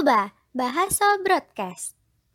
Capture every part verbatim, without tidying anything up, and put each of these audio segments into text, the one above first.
Boba, Bahasa Broadcast.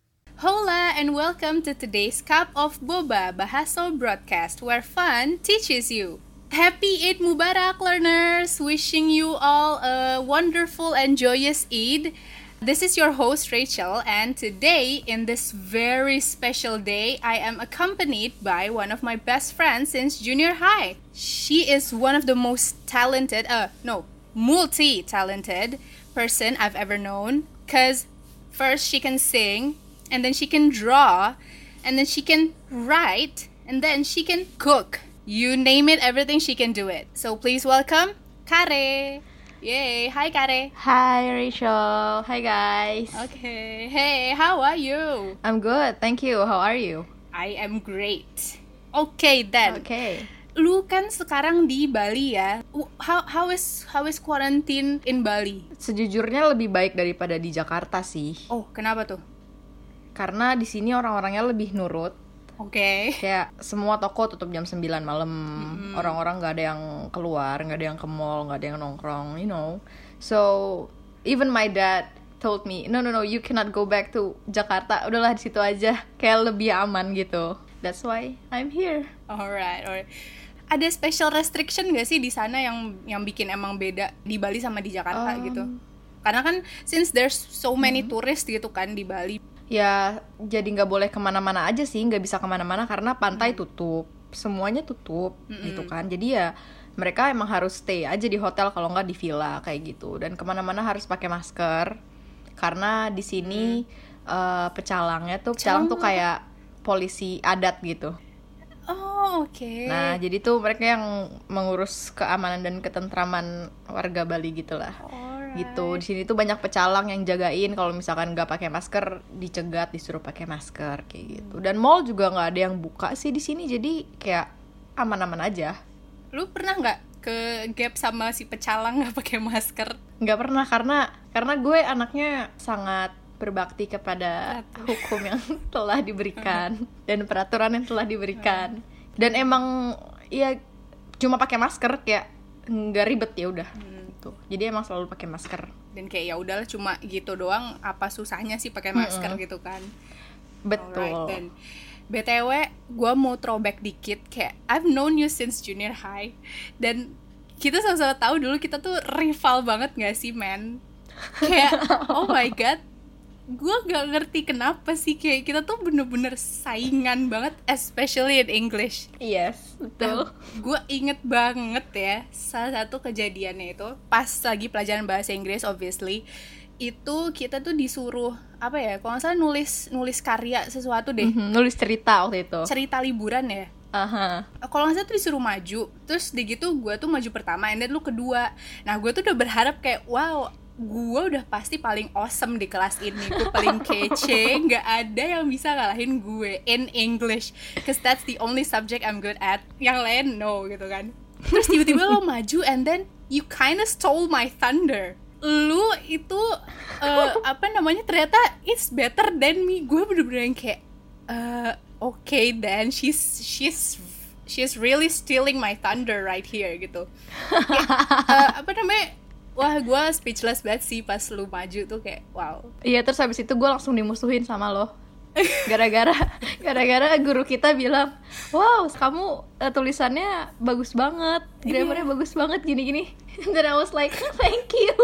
Hola and welcome to today's Cup of Boba, Bahasa Broadcast, where fun teaches you. Happy Eid Mubarak, learners! Wishing you all a wonderful and joyous Eid. This is your host Rachel, and today, in this very special day, I am accompanied by one of my best friends since junior high. She is one of the most talented, uh, no, multi-talented person I've ever known, because first she can sing, and then she can draw, and then she can write, and then she can cook. You name it, everything she can do it. So please welcome Kare. Yay! Hi Kare. Hi Rachel. Hi guys. Okay. Hey, how are you? I'm good, thank you. How are you? I am great. Okay then. Okay. Lu kan sekarang di Bali ya. How how is how is quarantine in Bali? Sejujurnya lebih baik daripada di Jakarta sih. Oh, kenapa tuh? Karena di sini orang-orangnya lebih nurut. Oke. Okay. Kayak semua toko tutup jam sembilan malam. Mm-hmm. Orang-orang nggak ada yang keluar, nggak ada yang ke mall, nggak ada yang nongkrong, you know. So even my dad told me, no no no, you cannot go back to Jakarta. Udahlah di situ aja, kayak lebih aman gitu. That's why I'm here. Alright, alright. Ada special restriction nggak sih di sana yang yang bikin emang beda di Bali sama di Jakarta um, gitu? Karena kan since there's so many mm-hmm. tourists gitu kan di Bali. Ya jadi nggak boleh kemana-mana aja sih, nggak bisa kemana-mana karena pantai hmm. tutup, semuanya tutup hmm. gitu kan. Jadi ya mereka emang harus stay aja di hotel kalau nggak di villa kayak gitu. Dan kemana-mana harus pakai masker karena di sini hmm. uh, pecalangnya tuh pecalang tuh kayak polisi adat gitu. Oh oke. Okay. Nah jadi tuh mereka yang mengurus keamanan dan ketentraman warga Bali gitulah. Oh. Gitu. Di sini tuh banyak pecalang yang jagain kalau misalkan nggak pakai masker dicegat, disuruh pakai masker kayak gitu. Dan mall juga nggak ada yang buka sih di sini, jadi kayak aman-aman aja. Lu pernah nggak ke gap sama si pecalang nggak pakai masker? Nggak pernah karena karena gue anaknya sangat berbakti kepada hukum yang telah diberikan dan peraturan yang telah diberikan. Dan emang ya cuma pakai masker kayak nggak ribet ya udah. Hmm. Jadi emang selalu pakai masker. Dan kayak ya udahlah cuma gitu doang, apa susahnya sih pakai masker mm-hmm. gitu kan. Betul. Alright, dan B T W gue mau throwback dikit, kayak I've known you since junior high. Dan kita sama-sama tahu dulu kita tuh rival banget gak sih man? Kayak oh my god, gue gak ngerti kenapa sih kayak kita tuh bener-bener saingan banget, especially in English. Yes, betul. Gue inget banget ya salah satu kejadiannya itu pas lagi pelajaran bahasa Inggris, obviously itu kita tuh disuruh apa ya, kalau nggak salah nulis nulis karya sesuatu deh. Mm-hmm, nulis cerita waktu itu. Cerita liburan ya. Uh-huh. Kalau nggak salah tuh disuruh maju, terus di gitu gue tuh maju pertama, and then lu kedua. Nah gue tuh udah berharap kayak wow, gue udah pasti paling awesome di kelas ini, gue paling kece, nggak ada yang bisa ngalahin gue in English, cause that's the only subject I'm good at. Yang lain no gitu kan. Terus tiba-tiba lo maju and then you kinda stole my thunder. Lu itu uh, apa namanya, ternyata it's better than me. Gue bener-bener yang kayak uh, okay then she's she's she's really stealing my thunder right here gitu. Kayak, uh, apa namanya, wah gue speechless banget sih pas lu maju tuh, kayak wow. Iya, terus habis itu gue langsung dimusuhin sama lo. Gara-gara gara-gara guru kita bilang, wow kamu uh, tulisannya bagus banget, grammarnya yeah. bagus banget gini-gini. Dan I was like thank you.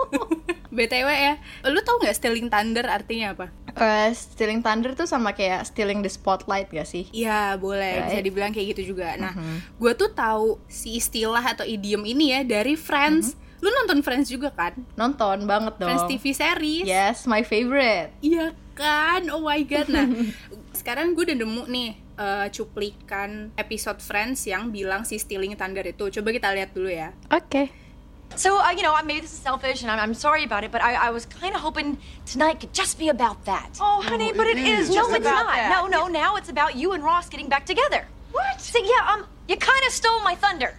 B T W ya, lu tau gak stealing thunder artinya apa? Uh, stealing thunder tuh sama kayak stealing the spotlight gak sih? Iya boleh, right? Bisa dibilang kayak gitu juga. Nah mm-hmm. gue tuh tahu si istilah atau idiom ini ya dari Friends. Mm-hmm. Lu nonton Friends juga kan? Nonton banget dong. Friends T V series. Yes, my favorite. Iya kan, oh my god. Nah sekarang gue udah nemu nih uh, cuplikan episode Friends yang bilang si stealing thunder itu. Coba kita lihat dulu ya. Oke. Okay. So, uh, you know, maybe this is selfish and I'm, I'm sorry about it, but I, I was kind of hoping tonight could just be about that. Oh, honey, but it is No, just it's about not. that. No, no, now it's about you and Ross getting back together. What? See, yeah, um, you kind of stole my thunder.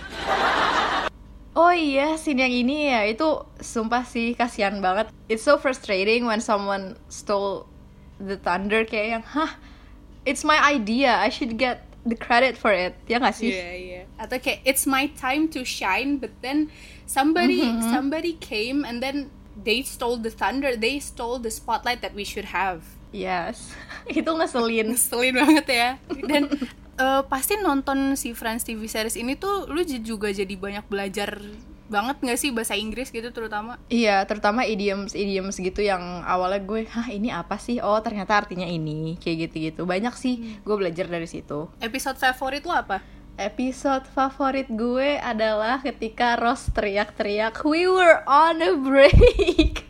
Oh iya, scene yang ini ya, itu sumpah sih kasihan banget. It's so frustrating when someone stole the thunder, kayak yang, hah, it's my idea, I should get the credit for it, ya nggak sih? Iya, yeah, iya. Yeah. Atau kayak it's my time to shine, but then somebody mm-hmm. somebody came and then they stole the thunder, they stole the spotlight that we should have. Yes. Itu ngeselin. Ngeselin banget ya. Dan uh, pasti nonton si Friends T V series ini tuh lu j- juga jadi banyak belajar banget gak sih bahasa Inggris gitu terutama? Iya, terutama idioms-idioms gitu yang awalnya gue, hah ini apa sih? Oh ternyata artinya ini, kayak gitu-gitu. Banyak sih hmm. gue belajar dari situ. Episode favorit lu apa? Episode favorit gue adalah ketika Ross teriak-teriak, we were on a break.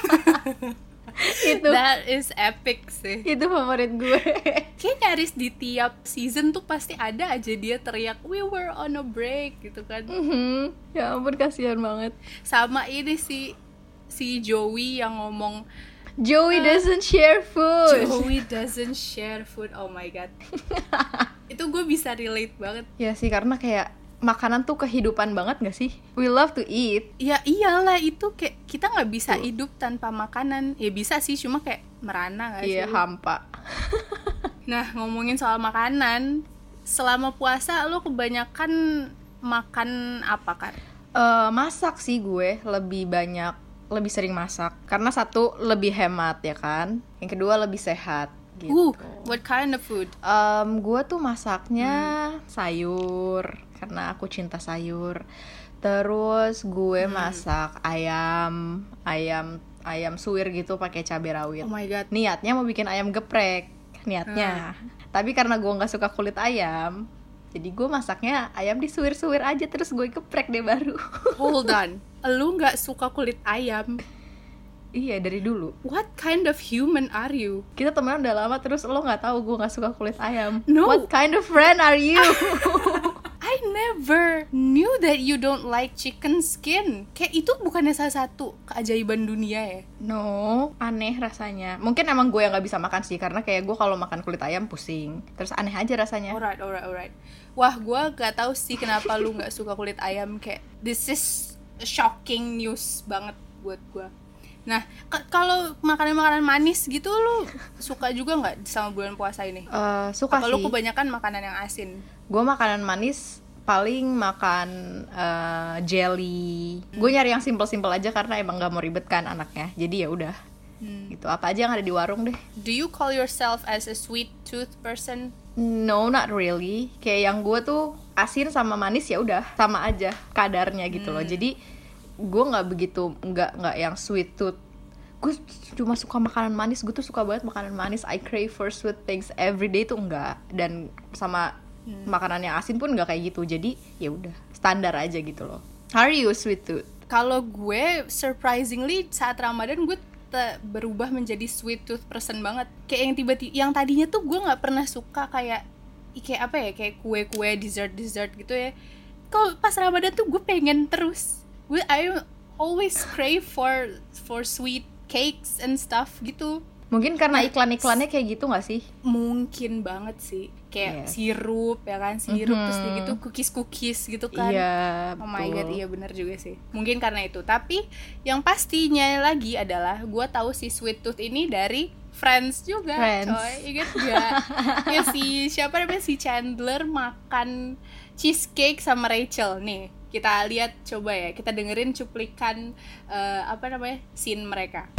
Itu That is epic sih. Itu favorit gue. Kayak nyaris di tiap season tuh pasti ada aja dia teriak we were on a break gitu kan. Mm-hmm. Ya ampun kasihan banget. Sama ini si si Joey yang ngomong Joey uh, doesn't share food. Joey doesn't share food. Oh my god. Itu gue bisa relate banget. Ya sih karena kayak makanan tuh kehidupan banget gak sih? We love to eat. Ya iyalah, itu kayak kita gak bisa hidup tanpa makanan. Ya bisa sih, cuma kayak merana gak sih? Iya, hampa. Nah, ngomongin soal makanan, selama puasa lo kebanyakan makan apa kan? Uh, masak sih gue, lebih banyak, lebih sering masak. Karena satu, lebih hemat ya kan? Yang kedua, lebih sehat. Gitu. Uh, what kind of food? Um, gue tuh masaknya hmm. sayur, karena aku cinta sayur. Terus gue hmm. masak ayam, ayam, ayam suwir gitu pakai cabai rawit. Oh my god. Niatnya mau bikin ayam geprek, niatnya. Hmm. Tapi karena gue nggak suka kulit ayam, jadi gue masaknya ayam disuwir-suwir aja terus gue geprek deh baru. Hold on, lu nggak suka kulit ayam? Iya dari dulu. What kind of human are you? Kita temenan udah lama terus lo nggak tahu gue nggak suka kulit ayam. No. What kind of friend are you? I never knew that you don't like chicken skin. Kayak itu bukannya salah satu keajaiban dunia ya? No, aneh rasanya. Mungkin emang gue yang nggak bisa makan sih karena kayak gue kalau makan kulit ayam pusing. Terus aneh aja rasanya. Alright, alright, alright. Wah, gue gak tahu sih kenapa lu nggak suka kulit ayam. Kayak this is shocking news banget buat gue. Nah, k- kalau makanan-makanan manis gitu lu suka juga nggak sama bulan puasa ini? Uh, suka Apa sih. lu kebanyakan makanan yang asin? Gue makanan manis paling makan uh, jelly. Hmm. Gue nyari yang simple-simple aja karena emang gak mau ribet kan anaknya. Jadi ya udah. Hmm. Gitu. Apa aja yang ada di warung deh. Do you call yourself as a sweet tooth person? No, not really. Kayak yang gue tuh asin sama manis ya udah sama aja kadarnya gitu hmm. loh. Jadi gue nggak begitu nggak nggak yang sweet tooth. Gue cuma suka makanan manis. Gue tuh suka banget makanan manis. I crave for sweet things every day tuh enggak. Dan sama hmm. makanan yang asin pun nggak kayak gitu. Jadi ya udah standar aja gitu loh. How are you sweet tooth? Kalau gue surprisingly saat Ramadan gue te- berubah menjadi sweet tooth person banget. Kayak yang tiba-tiba yang tadinya tuh gue nggak pernah suka kayak kayak apa ya kayak kue-kue dessert dessert gitu ya. Kalau pas Ramadan tuh gue pengen terus. Gue I always crave for for sweet cakes and stuff gitu. Mungkin karena iklan-iklannya kayak gitu gak sih? Mungkin banget sih. Kayak yes. sirup ya kan, sirup mm-hmm. terus gitu cookies-cookies gitu kan. Iya, oh my god, iya benar juga sih. Mungkin karena itu. Tapi yang pastinya lagi adalah gue tahu si sweet tooth ini dari Friends juga, Friends. Coy. Ingat gak? Ya si siapa namanya si Chandler makan cheesecake sama Rachel nih. Kita lihat coba ya, kita dengerin cuplikan uh, apa namanya scene mereka.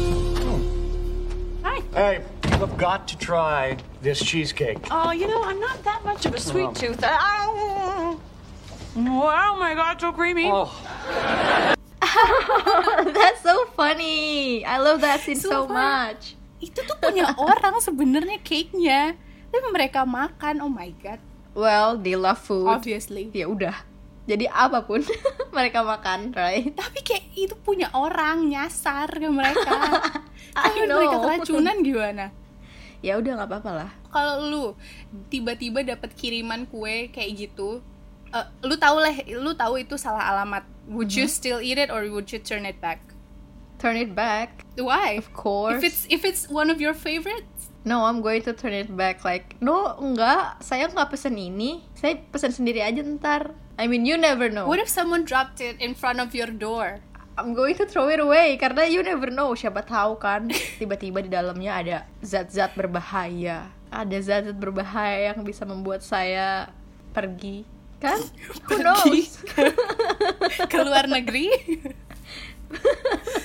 Hi. Hey, you've got to try this cheesecake. Oh, you know, I'm not that much of a sweet tooth. Oh, oh my God, so creamy. Oh. That's so funny. I love that scene so, so much. Itu tuh punya orang sebenarnya cake-nya, tapi mereka makan. Oh my god. Well, they love food. Obviously. Ya udah. Jadi apapun mereka makan, right? Tapi kayak itu punya orang nyasar ke mereka. I know. Mereka keracunan gimana? Ya udah nggak apa-apa lah. Kalau lu tiba-tiba dapat kiriman kue kayak gitu, uh, lu tahu lah, lu tahu itu salah alamat. Would mm-hmm. you still eat it or would you turn it back? Turn it back. Why? Of course. If it's if it's one of your favorites? No, I'm going to turn it back. Like, no, enggak. Saya nggak pesen ini. Saya pesen sendiri aja ntar. I mean, you never know. What if someone dropped it in front of your door? I'm going to throw it away karena you never know. Siapa tahu kan tiba-tiba di dalamnya ada zat-zat berbahaya. Ada zat-zat berbahaya yang bisa membuat saya pergi. Kan? Who knows? Ke luar negeri?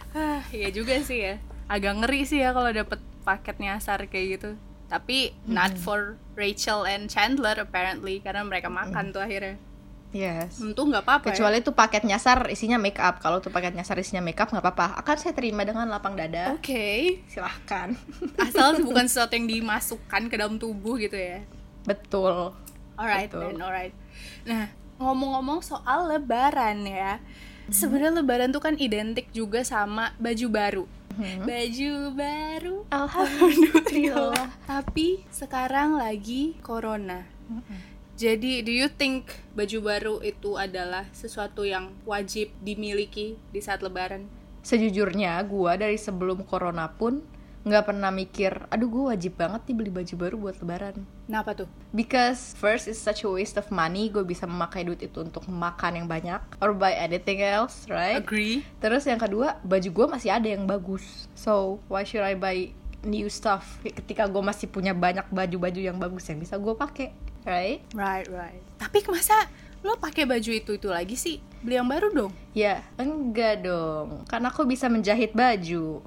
Ah, iya juga sih ya. Agak ngeri sih ya kalau dapet paket nyasar kayak gitu. Tapi hmm. not for Rachel and Chandler apparently, karena mereka makan hmm. tuh akhirnya. Yes. Untung nggak apa-apa. Kecuali ya. tuh paket nyasar isinya make up. Kalau tuh paket nyasar isinya make up nggak apa-apa. Akan saya terima dengan lapang dada. Oke. Okay. Silahkan. Asal bukan sesuatu yang dimasukkan ke dalam tubuh gitu ya. Betul. Alright Betul. then, alright. Nah, ngomong-ngomong soal Lebaran ya. Hmm. Sebenarnya Lebaran tuh kan identik juga sama baju baru. Hmm. Baju baru. Alhamdulillah. Tapi sekarang lagi corona. Hmm. Jadi, do you think baju baru itu adalah sesuatu yang wajib dimiliki di saat Lebaran? Sejujurnya, gue dari sebelum corona pun nggak pernah mikir, aduh gue wajib banget nih beli baju baru buat Lebaran. Kenapa tuh? Because first it's such a waste of money, gue bisa memakai duit itu untuk makan yang banyak or buy anything else, right? Agree. Terus yang kedua, baju gue masih ada yang bagus. So, why should I buy new stuff ketika gue masih punya banyak baju-baju yang bagus yang bisa gue pakai? Right? Right, right. Tapi masa lo pakai baju itu itu lagi sih? Beli yang baru dong? Ya, enggak dong. Karena aku bisa menjahit baju.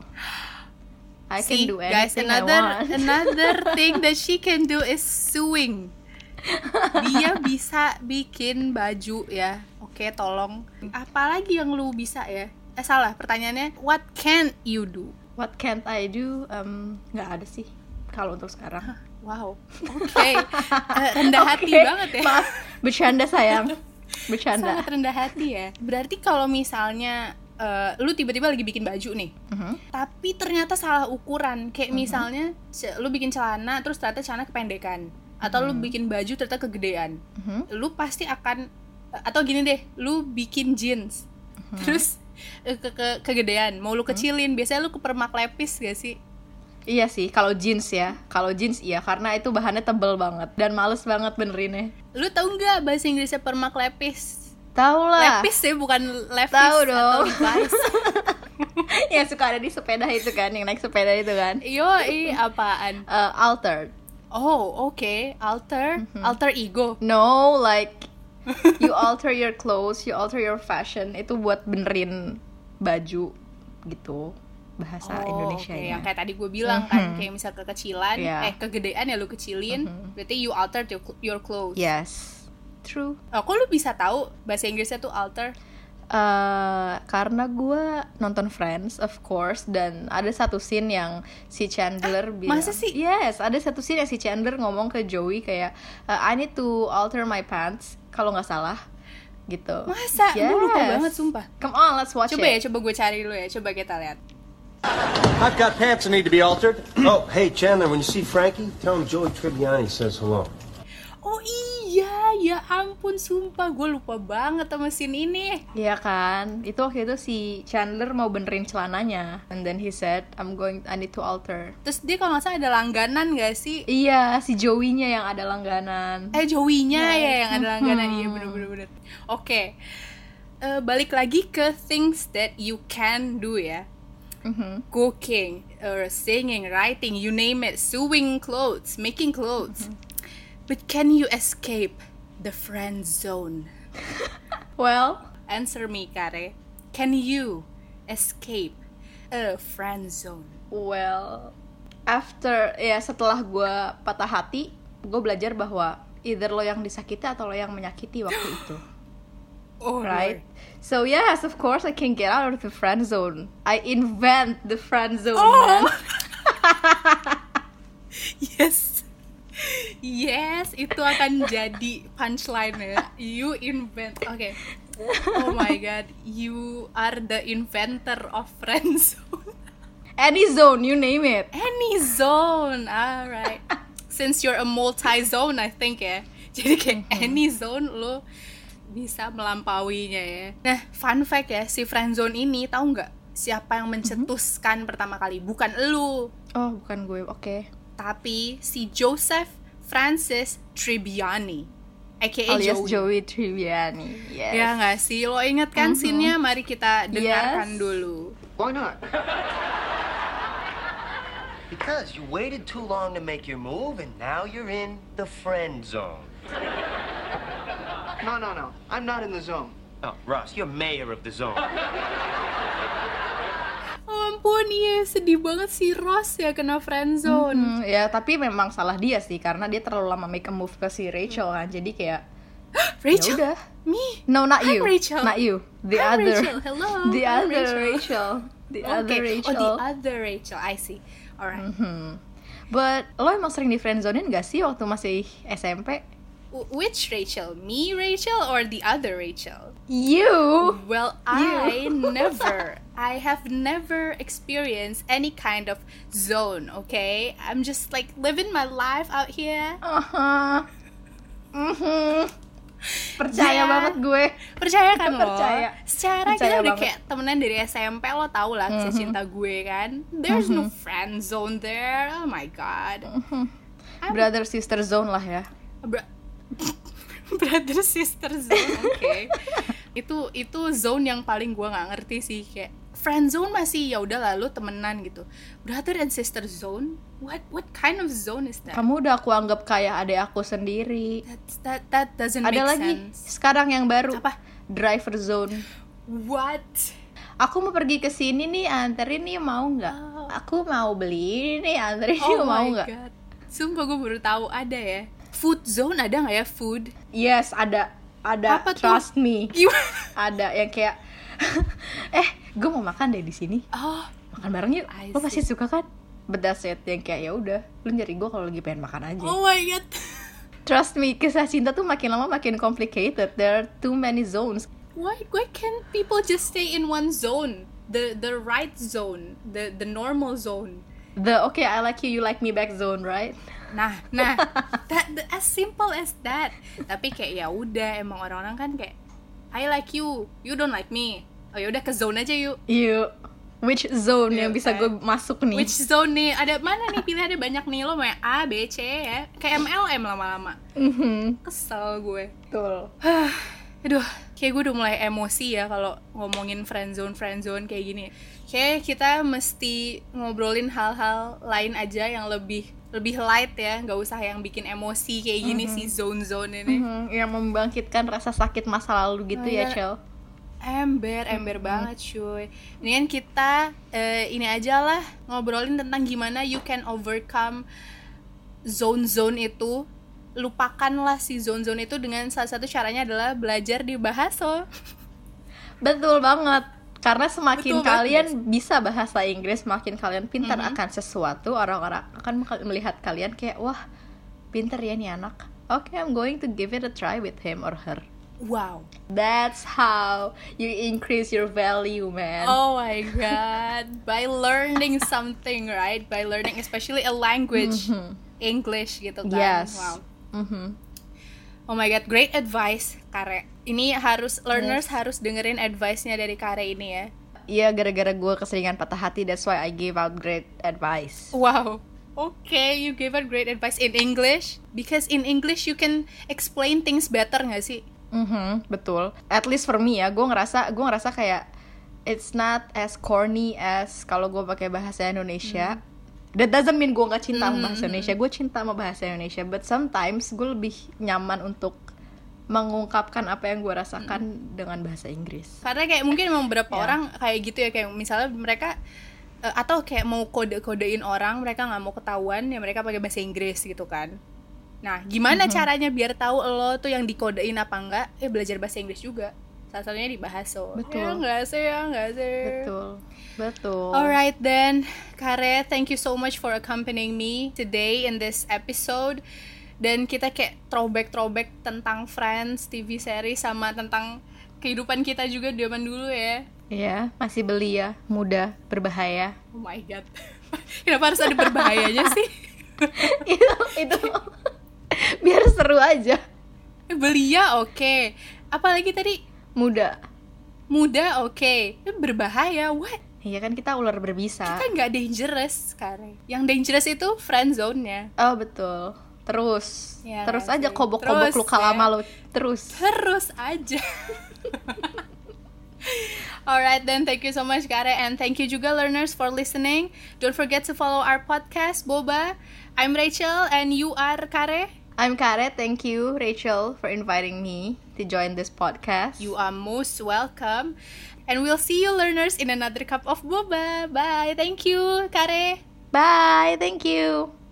I See, can do guys, anything another I want. another thing that she can do is sewing. Dia bisa bikin baju ya. Oke, tolong. Apalagi yang lu bisa ya? Eh salah, pertanyaannya what can you do? What can't I do? Um, nggak ada sih kalau untuk sekarang. Wow, oke, okay. uh, rendah hati okay. banget ya. Maaf, bercanda sayang, bercanda. Sangat rendah hati ya. Berarti kalau misalnya uh, lu tiba-tiba lagi bikin baju nih, uh-huh. tapi ternyata salah ukuran, kayak uh-huh. misalnya lu bikin celana terus ternyata celana kependekan, atau uh-huh. lu bikin baju ternyata kegedean, uh-huh. lu pasti akan, atau gini deh, lu bikin jeans, uh-huh. terus uh, ke, ke kegedean, mau lu kecilin, uh-huh. biasanya lu ke permak lepis gak sih? Iya sih, kalau jeans ya, kalau jeans iya, karena itu bahannya tebel banget dan males banget benerinnya. Lu tahu nggak bahasa Inggrisnya permak lepis? Tahu lah. Lepis ya, bukan levis. Tahu dong. Atau Levi's. Yang suka ada di sepeda itu kan, yang naik sepeda itu kan. Yoi, apaan? Uh, altered. Oh, oke, okay. Alter, mm-hmm. alter ego. No, like you alter your clothes, you alter your fashion, itu buat benerin baju gitu. Bahasa oh, Indonesianya. Okay. Yang kayak tadi gue bilang mm-hmm. kan, kayak misal kekecilan, yeah. eh kegedean ya lu kecilin, mm-hmm. berarti you altered your, your clothes. Yes, true. Oh, kok lu bisa tahu bahasa Inggrisnya tuh alter? Uh, karena gue nonton Friends, of course, dan ada satu scene yang si Chandler ah, bilang. Masa sih? Yes, ada satu scene yang si Chandler ngomong ke Joey kayak, uh, I need to alter my pants, kalau nggak salah. Gitu. Masa? Yes. Gue lupa banget, sumpah. Come on, let's watch coba it. Coba ya, coba gue cari dulu ya, coba kita lihat. I've got pants that need to be altered. Oh, hey, Chandler, when you see Frankie, tell him Joey Tribbiani says hello. Oh iya, ya ampun, sumpah gue lupa banget sama scene ini. Iya kan, itu waktu itu si Chandler mau benerin celananya, and then he said, I'm going, I need to alter. Terus dia kalau nggak salah ada langganan nggak sih? Iya, si Joey-nya yang ada langganan. Eh, Joey-nya ya, ya yang ada langganan, iya bener-bener. Oke, okay. uh, balik lagi ke things that you can do ya. Mm-hmm. Cooking, or singing, writing, you name it, sewing clothes, making clothes. Mm-hmm. But can you escape the friend zone? Well, answer me, Kare. Can you escape a friend zone? Well, after ya setelah gue patah hati, gue belajar bahwa either lo yang disakiti atau lo yang menyakiti waktu itu. Oh, right? Lord. So yes, of course I can get out of the friend zone. I invent the friend zone, oh. man. Yes. Yes, itu akan jadi punchline ya. You invent. Oke. Okay. Oh my god, you are the inventor of friend zone. Any zone, you name it. Any zone. Alright. Since you're a multi-zone, I think ya. Jadi kayak mm-hmm. any zone lo bisa melampauinya ya. Nah, fun fact ya, si friendzone ini tahu nggak siapa yang mencetuskan mm-hmm. pertama kali? Bukan elu. Oh, bukan gue. Oke. Okay. Tapi si Joseph Francis Tribbiani, aka alias Joey. Joey Tribbiani. Yes. Ya nggak sih? Lo inget kan mm-hmm. scene-nya? Mari kita dengarkan yes. dulu. Why not? Because you waited too long to make your move, and now you're in the friend zone. No, no, no. I'm not in the zone. Oh, Ross, you're mayor of the zone. ampun, iya sedih banget si Ross ya kena friendzone. Hmm, ya tapi memang salah dia sih karena dia terlalu lama make a move ke si Rachel kan. Jadi kayak Rachel? ya udah. Me? No, not I'm you. Rachel. Not you. The I'm other. Rachel. Hello. The I'm other Rachel. Rachel. The other Okay. Rachel. Oh, the other Rachel. I see. Alright. Hmm. But lo emang sering di friendzonein gak sih waktu masih S M P? W- Which Rachel? Me Rachel or the other Rachel? You. Well, I never. I have never experienced any kind of zone, okay? I'm just like living my life out here. Uh-huh. Mhm. Percaya Yeah. banget gue. Percaya kan lo? Percaya. Secara Percaya kita udah banget. kayak temenan dari S M P, lo tau lah kisah cinta gue kan. There's no friend zone there. Oh my god. Brother sister zone lah ya. Bra- Brother sister zone, oke. itu itu zone yang paling gue nggak ngerti sih, kayak friend zone masih ya udah lalu temenan gitu. Brother and sister zone, what what kind of zone is that? Kamu udah aku anggap kayak adik aku sendiri. That's, that that doesn't Ada make lagi sense. sekarang yang baru. Apa? Driver zone. What? Aku mau pergi ke sini nih, anterin nih, mau nggak? Oh. Aku mau beli ini nih, anterin nih, Oh mau my nggak? god. Sumpah gue baru tahu ada ya. Food zone ada nggak ya, food? Yes, ada, ada. Apa tuh? Trust me. Gimana? Ada yang kayak, eh, gue mau makan deh di sini. Oh, Makan bareng yuk. I Lo pasti see. suka kan? But that's it. Yang kayak ya udah, lu nyari gue kalau lagi pengen makan aja. oh my god. Trust me, kisah cinta tuh makin lama makin complicated. There are too many zones. Why why can't people just stay in one zone? The the right zone, the the normal zone. The okay, I like you, you like me back zone, right? Nah, nah, that, that as simple as that. Tapi kayak ya udah, emang orang-orang kan kayak I like you, you don't like me. Oh ya udah ke zone aja yuk. You, which zone Iya, yang bisa kan? gue masuk nih? Which zone nih? Ada mana nih pilihannya banyak nih, lo mau yang A, B, C ya. Kayak M L M lama-lama. Mhm, Kesel gue. betul. Aduh, kayak gue udah mulai emosi ya kalau ngomongin friendzone friendzone kayak gini. Kayak kita mesti ngobrolin hal-hal lain aja yang lebih lebih light ya, nggak usah yang bikin emosi kayak gini Mhm. sih zone-zone ini. Mhm, yang membangkitkan rasa sakit masa lalu gitu Oh, ya, iya. Cel. Ember, ember banget cuy. Ini kan kita eh, ini aja lah ngobrolin tentang gimana you can overcome zone-zone itu. Lupakanlah si zone-zone itu dengan salah satu caranya adalah belajar di Bahaso. Betul banget. Karena semakin Betul banget, kalian bisa bahasa Inggris, semakin kalian pintar Mhm. akan sesuatu, orang-orang akan melihat kalian kayak, wah, pintar ya nih anak. Okay, I'm going to give it a try with him or her. Wow. That's how you increase your value, man. Oh my god. By learning something, right? By learning especially a language, English gitu kan. Yes. Wow. Mhm. Oh my god, great advice, Kare. Ini harus learners harus dengerin advice-nya dari Kare ini ya. Iya, gara-gara gue keseringan patah hati, that's why I gave out great advice. Wow. Okay, you gave out great advice in English because in English you can explain things better nggak sih? Mhm, betul. At least for me ya, gue ngerasa gue ngerasa kayak it's not as corny as kalau gue pakai bahasa Indonesia. That doesn't mean gue nggak cinta sama bahasa Indonesia. Gue cinta sama bahasa Indonesia, but sometimes gue lebih nyaman untuk mengungkapkan apa yang gue rasakan dengan bahasa Inggris. Karena kayak mungkin emang beberapa Ya. orang kayak gitu ya, kayak misalnya mereka eh, atau kayak mau kode-kodein orang, mereka nggak mau ketahuan ya mereka pakai bahasa Inggris gitu kan. Nah, gimana caranya biar tahu lo tuh yang dikodein apa enggak? Eh belajar bahasa Inggris juga. Salah satunya di Bahaso. Betul. Ya enggak sih, ya enggak sih. Betul, betul. Alright then, Kare, thank you so much for accompanying me today in this episode. Dan kita kayak throwback-throwback tentang Friends, T V series, sama tentang kehidupan kita juga zaman dulu ya. Iya, masih belia, muda, berbahaya. Oh my god. Kenapa harus ada berbahayanya sih? itu itu biar seru aja. Eh, belia oke. Okay. Apalagi tadi Muda. muda oke. Okay. Berbahaya what? Iya kan kita ular berbisa. Kita nggak dangerous sekarang. Yang dangerous itu friend zone-nya. Oh betul. Terus, Ya, terus sih. aja kobok-kobok Terus, luka ya. lama lo. Terus. Terus aja. Alright then, thank you so much Kare, and thank you juga learners for listening. Don't forget to follow our podcast Boba. I'm Rachel and you are Kare. I'm Kare. Thank you, Rachel, for inviting me. to join this podcast. You are most welcome. And we'll see you learners in another cup of boba. Bye. Thank you, Kare. Bye. Thank you.